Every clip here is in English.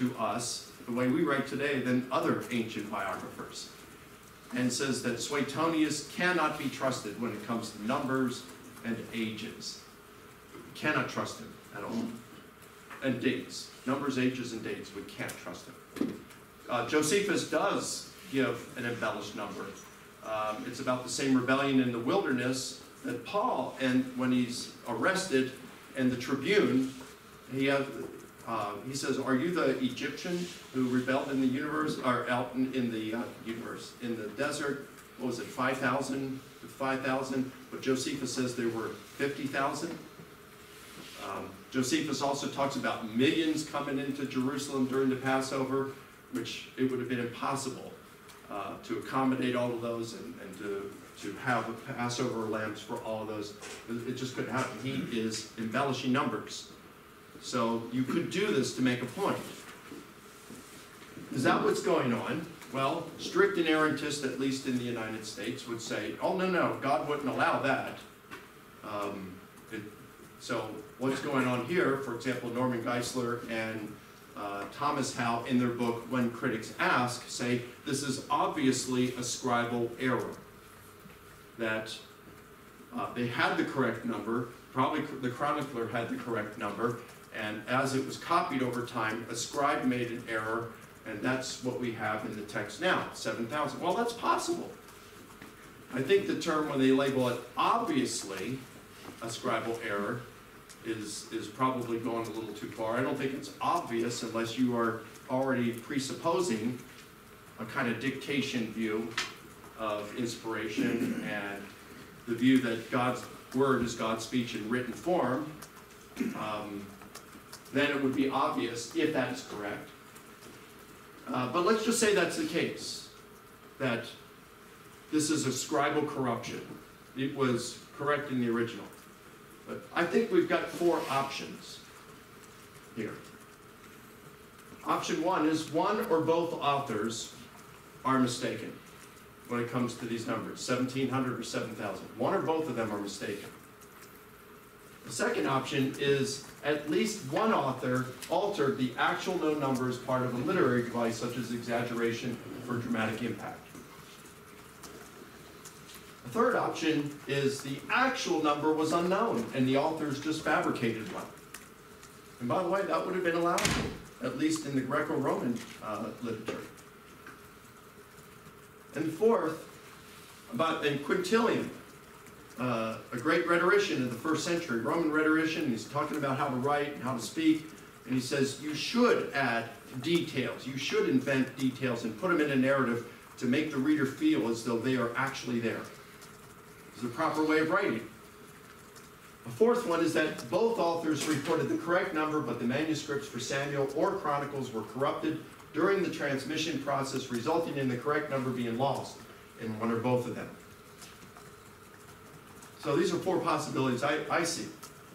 to us, the way we write today, than other ancient biographers. And says that Suetonius cannot be trusted when it comes to numbers and ages. Cannot trust him at all. And dates. Numbers, ages, and dates. We can't trust him. Josephus does give an embellished number. It's about the same rebellion in the wilderness that Paul, and when he's arrested, and the tribune, he says, "Are you the Egyptian who rebelled in the universe, or out in the universe, in the desert? What was it, 5,000? 5,000? But Josephus says there were 50,000. Josephus also talks about millions coming into Jerusalem during the Passover, which it would have been impossible to accommodate all of those and to have Passover lambs for all of those. It just couldn't happen. He is embellishing numbers. So you could do this to make a point. Is that what's going on? Well, strict inerrantists, at least in the United States, would say, oh, no, God wouldn't allow that. So what's going on here, for example, Norman Geisler and Thomas Howe, in their book, When Critics Ask, say this is obviously a scribal error. That they had the correct number, probably the chronicler had the correct number, and as it was copied over time, a scribe made an error, and that's what we have in the text now, 7,000. Well, that's possible. I think the term, when they label it obviously a scribal error, is probably going a little too far. I don't think it's obvious unless you are already presupposing a kind of dictation view of inspiration and the view that God's word is God's speech in written form. Then it would be obvious if that is correct. But let's just say that's the case, that this is a scribal corruption. It was correct in the original. But I think we've got 4 options here. Option 1 is one or both authors are mistaken when it comes to these numbers, 1,700 or 7,000. One or both of them are mistaken. The second option is at least one author altered the actual known number as part of a literary device, such as exaggeration for dramatic impact. The third option is the actual number was unknown, and the authors just fabricated one. And by the way, that would have been allowed, at least in the Greco-Roman literature. And fourth, in Quintilian, a great rhetorician in the 1st century, Roman rhetorician, he's talking about how to write and how to speak, and he says you should add details, you should invent details and put them in a narrative to make the reader feel as though they are actually there. It's the proper way of writing. A fourth one is that both authors reported the correct number, but the manuscripts for Samuel or Chronicles were corrupted during the transmission process, resulting in the correct number being lost in one or both of them. So these are 4 possibilities I see.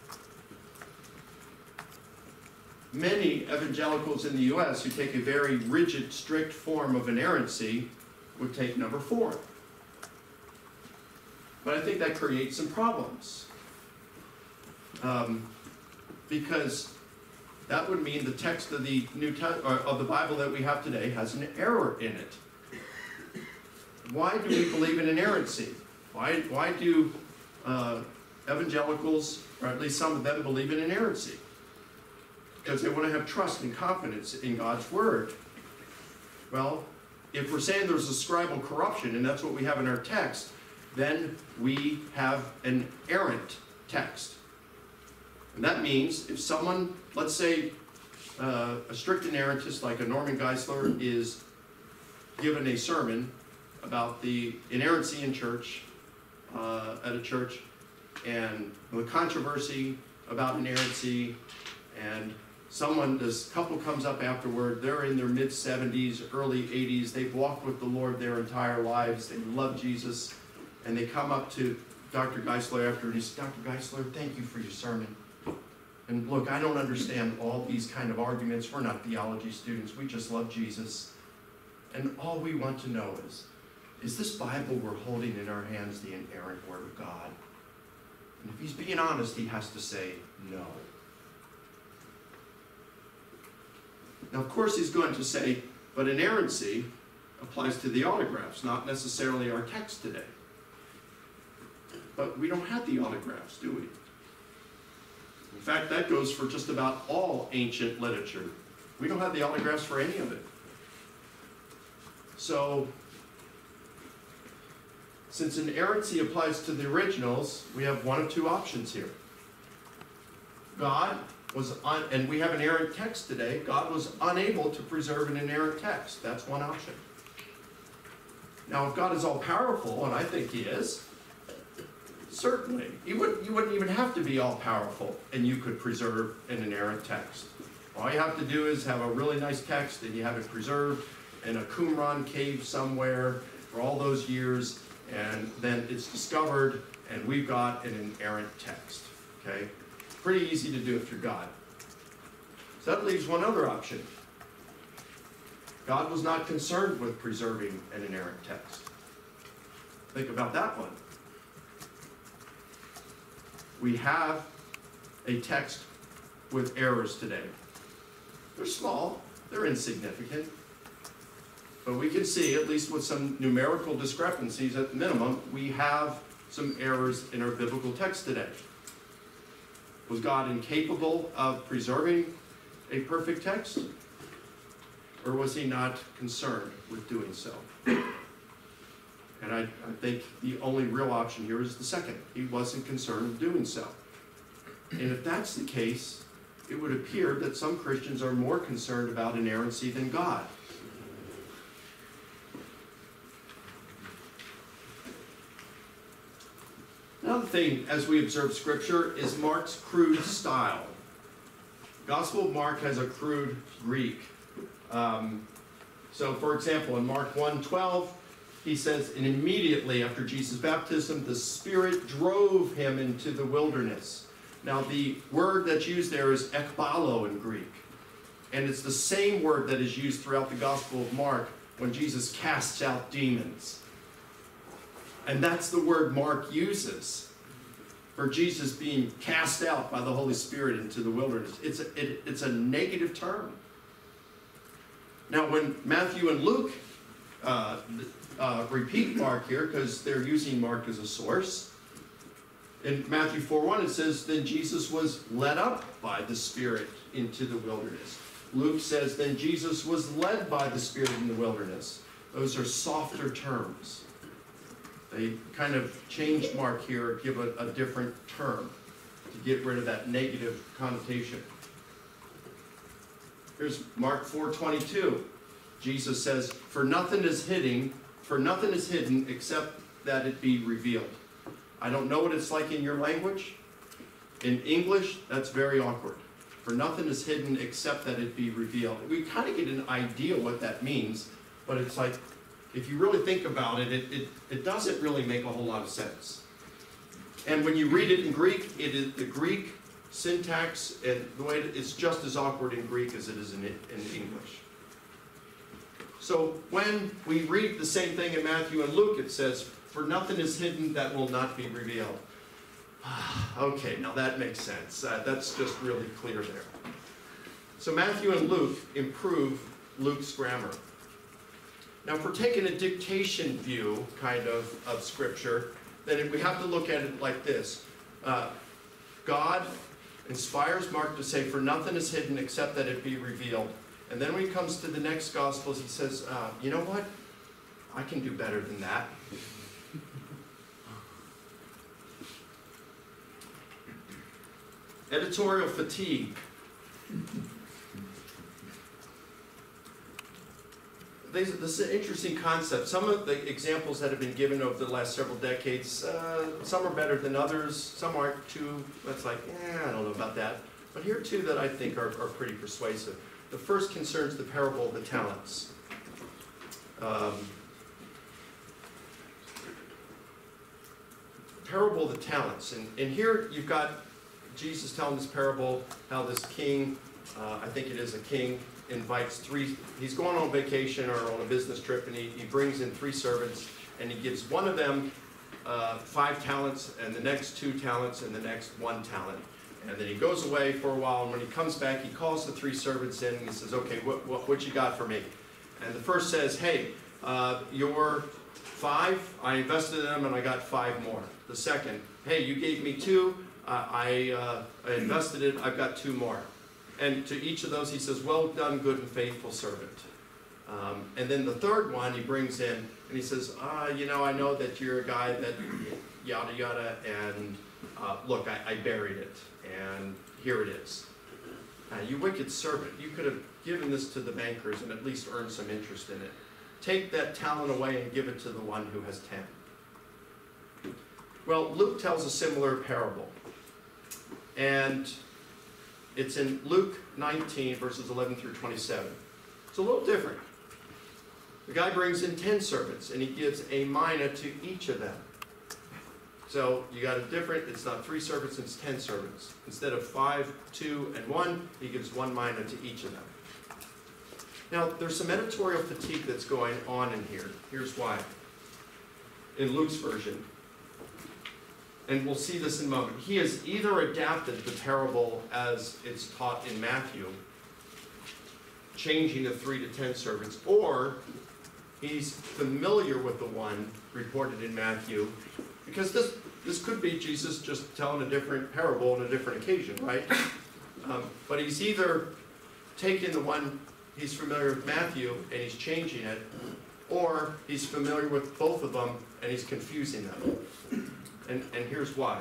Many evangelicals in the U.S. who take a very rigid, strict form of inerrancy would take number 4. But I think that creates some problems. Because that would mean the text of the of the Bible that we have today has an error in it. Why do we believe in inerrancy? Why do evangelicals, or at least some of them, believe in inerrancy? Because they want to have trust and confidence in God's word. Well, if we're saying there's a scribal corruption, and that's what we have in our text, then we have an errant text. And that means if someone, let's say a strict inerrantist like a Norman Geisler is given a sermon about the inerrancy in church, at a church, and the controversy about inerrancy, and this couple comes up afterward, they're in their mid-70s, early 80s, they've walked with the Lord their entire lives, they love Jesus, and they come up to Dr. Geisler after, and he says, Dr. Geisler, thank you for your sermon. And look, I don't understand all these kind of arguments. We're not theology students. We just love Jesus. And all we want to know is this Bible we're holding in our hands the inerrant Word of God? And if he's being honest, he has to say no. Now, of course, he's going to say, but inerrancy applies to the autographs, not necessarily our text today. But we don't have the autographs, do we? In fact, that goes for just about all ancient literature. We don't have the autographs for any of it. So, since inerrancy applies to the originals, we have one of two options here. God was, and we have an inerrant text today, God was unable to preserve an inerrant text. That's one option. Now, if God is all-powerful, and I think he is, certainly, you wouldn't even have to be all-powerful, and you could preserve an inerrant text. All you have to do is have a really nice text, and you have it preserved in a Qumran cave somewhere for all those years, and then it's discovered, and we've got an inerrant text, okay? Pretty easy to do if you're God. So that leaves one other option. God was not concerned with preserving an inerrant text. Think about that one. We have a text with errors today. They're small, they're insignificant, but we can see, at least with some numerical discrepancies at the minimum, we have some errors in our biblical text today. Was God incapable of preserving a perfect text? Or was he not concerned with doing so? And I think the only real option here is the second. He wasn't concerned with doing so. And if that's the case, it would appear that some Christians are more concerned about inerrancy than God. Another thing, as we observe Scripture, is Mark's crude style. Gospel of Mark has a crude Greek. So, for example, in Mark 1:12, he says, and immediately after Jesus' baptism, the Spirit drove him into the wilderness. Now, the word that's used there is ekbalo in Greek. And it's the same word that is used throughout the Gospel of Mark when Jesus casts out demons. And that's the word Mark uses for Jesus being cast out by the Holy Spirit into the wilderness. It's a negative term. Now, when Matthew and Luke repeat Mark here, because they're using Mark as a source, in Matthew 4:1 it says, then Jesus was led up by the Spirit into the wilderness. Luke says, then Jesus was led by the Spirit in the wilderness. Those are softer terms. They kind of changed Mark here, give a different term to get rid of that negative connotation. Here's Mark 4:22. Jesus says, for nothing is hidden except that it be revealed. I don't know what it's like in your language. In English, that's very awkward. For nothing is hidden except that it be revealed. We kind of get an idea what that means, but it's like, if you really think about it, it doesn't really make a whole lot of sense. And when you read it in Greek, it is the Greek syntax, and the way it's just as awkward in Greek as it is in English. So when we read the same thing in Matthew and Luke, it says, for nothing is hidden that will not be revealed. Okay, now that makes sense. That's just really clear there. So Matthew and Luke improve Luke's grammar. Now, if we're taking a dictation view, kind of Scripture, then we have to look at it like this. God inspires Mark to say, for nothing is hidden except that it be revealed. And then when he comes to the next Gospels, he says, you know what? I can do better than that. Editorial fatigue. This is an interesting concept. Some of the examples that have been given over the last several decades, some are better than others, some aren't too, that's like, I don't know about that. But here are two that I think are pretty persuasive. The first concerns the parable of the talents. Parable of the talents. And here you've got Jesus telling this parable, how this king, I think it is a king, invites he's going on vacation or on a business trip, and he brings in 3 servants, and he gives one of them 5 talents, and the next 2 talents, and the next 1 talent. And then he goes away for a while, and when he comes back, he calls the 3 servants in, and he says, okay, what you got for me? And the first says, hey, your 5, I invested in them, and I got 5 more. The second, hey, you gave me 2, I invested it, I've got 2 more. And to each of those, he says, well done, good and faithful servant. And then the third one he brings in, and he says, you know, I know that you're a guy that yada yada, and look, I buried it, and here it is. You wicked servant, you could have given this to the bankers and at least earned some interest in it. Take that talent away and give it to the one who has 10. Well, Luke tells a similar parable. And it's in Luke 19, verses 11 through 27. It's a little different. The guy brings in 10 servants, and he gives a mina to each of them. So you got a different, it's not 3 servants, it's 10 servants. Instead of 5, 2, and 1, he gives 1 mina to each of them. Now, there's some editorial fatigue that's going on in here. Here's why. In Luke's version, and we'll see this in a moment, he has either adapted the parable as it's taught in Matthew, changing the 3 to 10 servants, or he's familiar with the one reported in Matthew, because this could be Jesus just telling a different parable on a different occasion, right? But he's either taking the one he's familiar with Matthew and he's changing it, or he's familiar with both of them and he's confusing them. And here's why.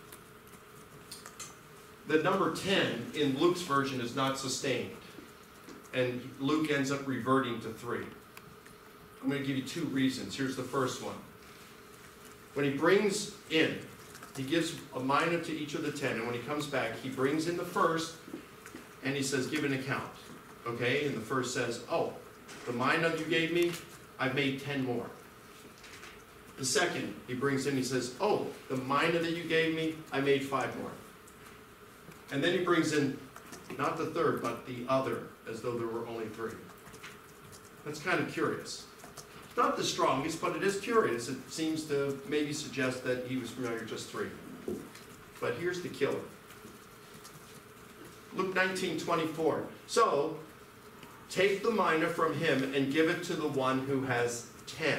The number 10 in Luke's version is not sustained, and Luke ends up reverting to 3. I'm going to give you 2 reasons. Here's the first one. When he brings in, he gives a mina to each of the 10, and when he comes back, he brings in the first, and he says, give an account. Okay, and the first says, oh, the mina you gave me, I've made 10 more. The second, he brings in, he says, oh, the mina that you gave me, I made 5 more. And then he brings in, not the third, but the other, as though there were only 3. That's kind of curious. Not the strongest, but it is curious. It seems to maybe suggest that he was familiar with just 3. But here's the killer. Luke 19:24. So, take the mina from him and give it to the one who has 10.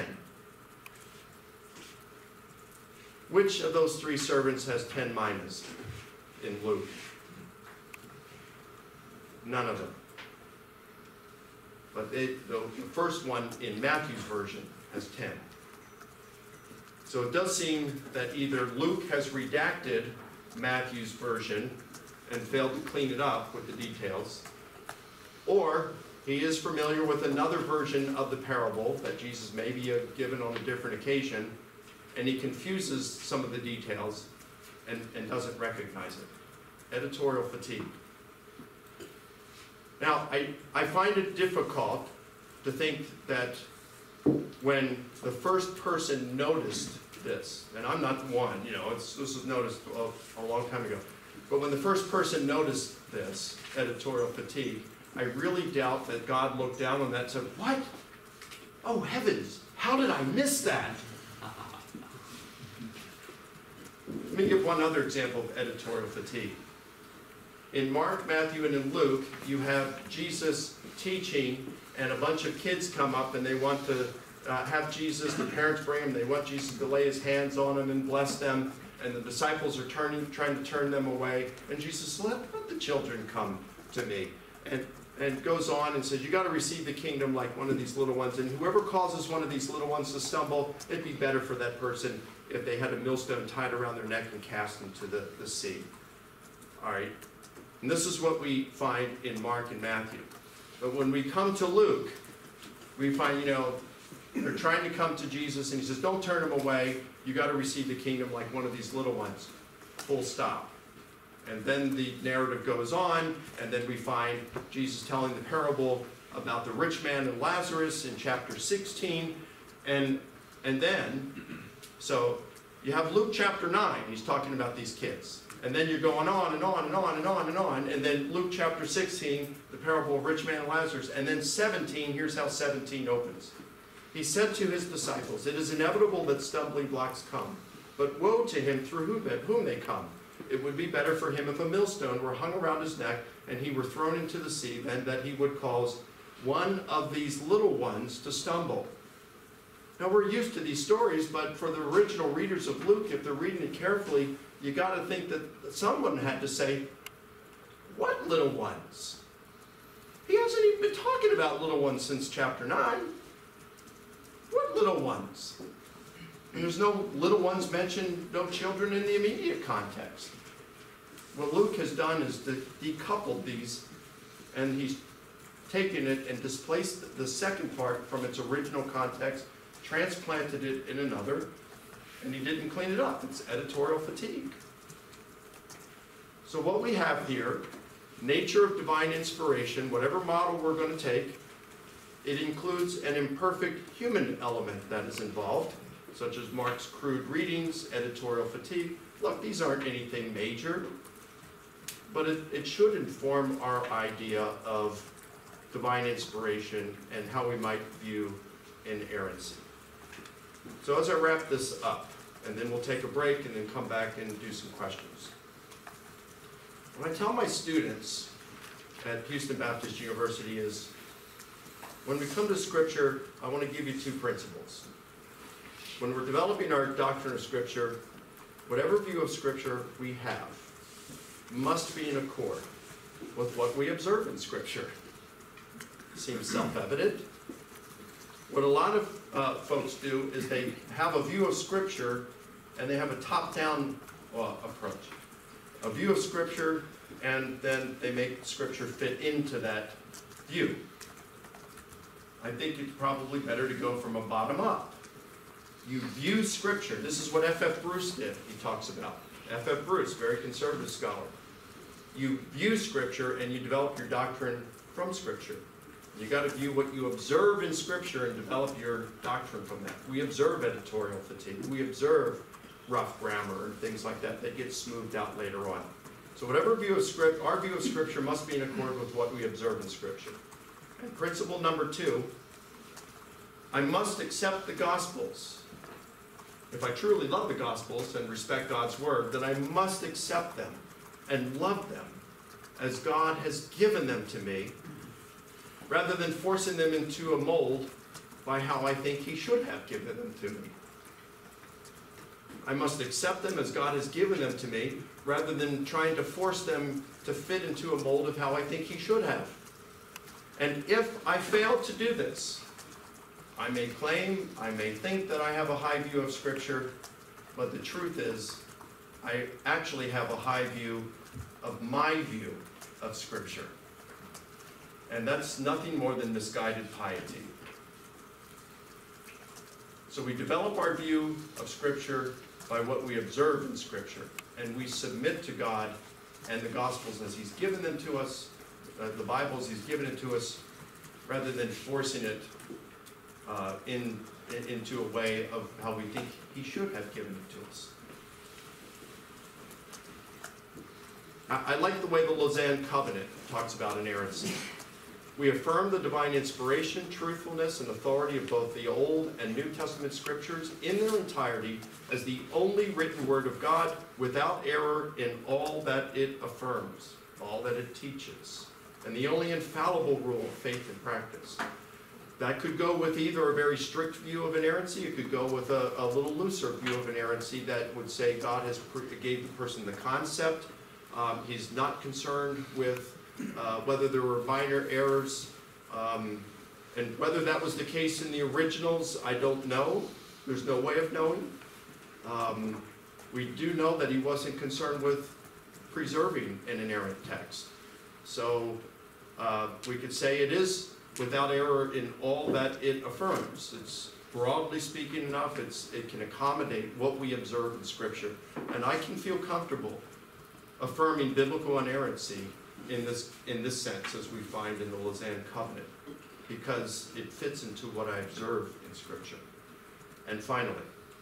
Which of those 3 servants has 10 minas in Luke? None of them. But the first one in Matthew's version has 10. So it does seem that either Luke has redacted Matthew's version and failed to clean it up with the details, or he is familiar with another version of the parable that Jesus may be given on a different occasion, and he confuses some of the details and doesn't recognize it. Editorial fatigue. Now, I find it difficult to think that when the first person noticed this, and I'm not the one, you know, this was noticed a long time ago, but when the first person noticed this, editorial fatigue, I really doubt that God looked down on that and said, what? Oh, heavens, how did I miss that? Let me give one other example of editorial fatigue. In Mark, Matthew, and in Luke, you have Jesus teaching, and a bunch of kids come up and they want to have Jesus, the parents bring him, they want Jesus to lay his hands on them and bless them, and the disciples are trying to turn them away, and Jesus says, let the children come to me. And goes on and says, you got to receive the kingdom like one of these little ones, and whoever causes one of these little ones to stumble, it'd be better for that person if they had a millstone tied around their neck and cast into the sea. All right. And this is what we find in Mark and Matthew. But when we come to Luke, we find, you know, they're trying to come to Jesus, and he says, don't turn them away. You got to receive the kingdom like one of these little ones. Full stop. And then the narrative goes on, and then we find Jesus telling the parable about the rich man and Lazarus in chapter 16. And then, so you have Luke chapter 9, he's talking about these kids. And then you're going on and on and on and on and on. And then Luke chapter 16, the parable of rich man and Lazarus. And then 17, here's how 17 opens. He said to his disciples, it is inevitable that stumbling blocks come, but woe to him through whom they come. it would be better for him if a millstone were hung around his neck and he were thrown into the sea than that he would cause one of these little ones to stumble. Now we're used to these stories, but for the original readers of Luke, if they're reading it carefully, you got to think that someone had to say, what little ones? He hasn't even been talking about little ones since chapter 9. What little ones? And there's no little ones mentioned, no children in the immediate context. What Luke has done is decoupled these, and he's taken it and displaced the second part from its original context, transplanted it in another, and he didn't clean it up. It's editorial fatigue. So what we have here, nature of divine inspiration, whatever model we're going to take, it includes an imperfect human element that is involved, such as Mark's crude readings, editorial fatigue. Look, these aren't anything major, but it should inform our idea of divine inspiration and how we might view inerrancy. So as I wrap this up, and then we'll take a break and then come back and do some questions. What I tell my students at Houston Baptist University is, when we come to Scripture, I want to give you two principles. When we're developing our doctrine of Scripture, whatever view of Scripture we have must be in accord with what we observe in Scripture. Seems self-evident. What a lot of folks do is they have a view of Scripture and they have a top-down approach. A view of Scripture, and then they make Scripture fit into that view. I think it's probably better to go from a bottom up. You view Scripture. This is what F.F. Bruce did, he talks about. F.F. Bruce, very conservative scholar. You view Scripture and you develop your doctrine from Scripture. You got to view what you observe in Scripture and develop your doctrine from that. We observe editorial fatigue. We observe rough grammar and things like that that get smoothed out later on. So whatever view of Scripture, our view of Scripture must be in accord with what we observe in Scripture. And principle number 2, I must accept the Gospels. If I truly love the Gospels and respect God's Word, then I must accept them and love them as God has given them to me, rather than forcing them into a mold by how I think He should have given them to me. I must accept them as God has given them to me, rather than trying to force them to fit into a mold of how I think He should have. And if I fail to do this, I may claim, I may think that I have a high view of Scripture, but the truth is, I actually have a high view of my view of Scripture. And that's nothing more than misguided piety. So we develop our view of Scripture by what we observe in Scripture, and we submit to God and the Gospels as He's given them to us, the Bible as He's given it to us, rather than forcing it into a way of how we think He should have given it to us. I like the way the Lausanne Covenant talks about inerrancy. We affirm the divine inspiration, truthfulness, and authority of both the Old and New Testament Scriptures in their entirety as the only written Word of God, without error in all that it affirms, all that it teaches, and the only infallible rule of faith and practice. That could go with either a very strict view of inerrancy, it could go with a little looser view of inerrancy that would say God has gave the person the concept. He's not concerned with whether there were minor errors, and whether that was the case in the originals, I don't know. There's no way of knowing. We do know that he wasn't concerned with preserving an inerrant text. So we could say it is without error in all that it affirms. It's broadly speaking enough, it can accommodate what we observe in Scripture. And I can feel comfortable affirming biblical inerrancy in this sense, as we find in the Lausanne Covenant, because it fits into what I observe in Scripture. And finally,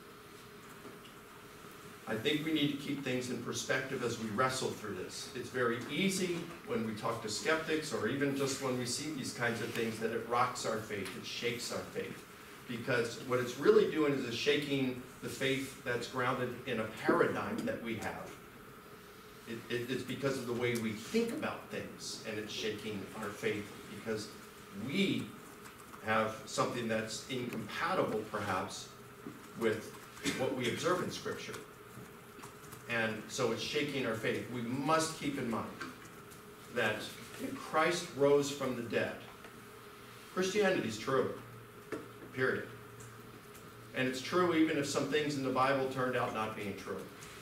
I think we need to keep things in perspective as we wrestle through this. It's very easy when we talk to skeptics, or even just when we see these kinds of things, that it rocks our faith, it shakes our faith. Because what it's really doing is it's shaking the faith that's grounded in a paradigm that we have. It's because of the way we think about things, and it's shaking our faith because we have something that's incompatible, perhaps, with what we observe in Scripture. And so it's shaking our faith. We must keep in mind that if Christ rose from the dead, Christianity is true, period. And it's true even if some things in the Bible turned out not being true.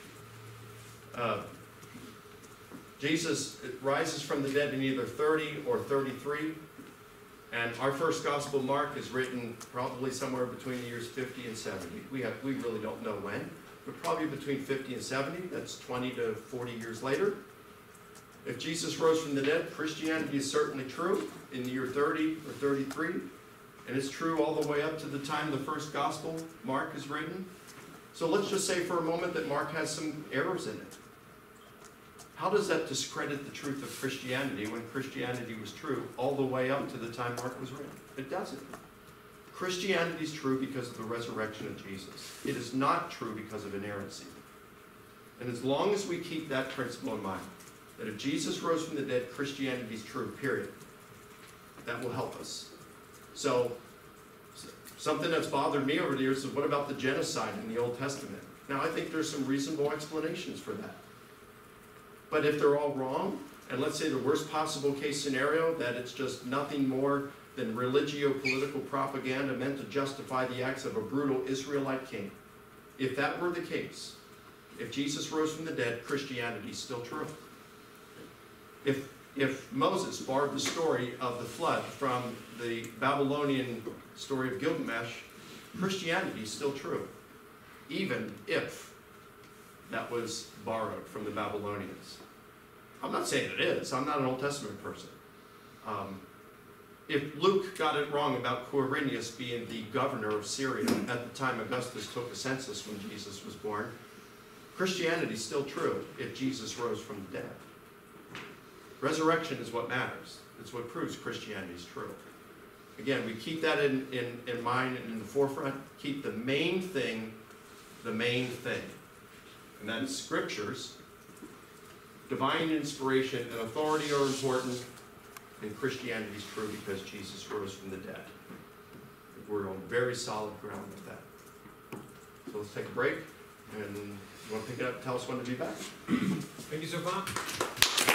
Jesus rises from the dead in either 30 or 33. And our first gospel, Mark, is written probably somewhere between the years 50 and 70. We really don't know when, but probably between 50 and 70. That's 20 to 40 years later. If Jesus rose from the dead, Christianity is certainly true in the year 30 or 33. And it's true all the way up to the time the first gospel, Mark, is written. So let's just say for a moment that Mark has some errors in it. How does that discredit the truth of Christianity when Christianity was true all the way up to the time Mark was written? It doesn't. Christianity is true because of the resurrection of Jesus. It is not true because of inerrancy. And as long as we keep that principle in mind, that if Jesus rose from the dead, Christianity is true, period, that will help us. So, something that's bothered me over the years is, what about the genocide in the Old Testament? Now, I think there's some reasonable explanations for that. But if they're all wrong, and let's say the worst possible case scenario, that it's just nothing more than religio-political propaganda meant to justify the acts of a brutal Israelite king, if that were the case, if Jesus rose from the dead, Christianity is still true. If Moses borrowed the story of the flood from the Babylonian story of Gilgamesh, Christianity is still true, even if that was borrowed from the Babylonians. I'm not saying it is. I'm not an Old Testament person. If Luke got it wrong about Quirinius being the governor of Syria at the time Augustus took a census when Jesus was born, Christianity is still true if Jesus rose from the dead. Resurrection is what matters. It's what proves Christianity is true. Again, we keep that in mind and in the forefront. Keep the main thing the main thing. And that is Scriptures. Divine inspiration and authority are important, and Christianity is true because Jesus rose from the dead. We're on very solid ground with that. So let's take a break, and you want to pick it up and tell us when to be back? Thank you so much.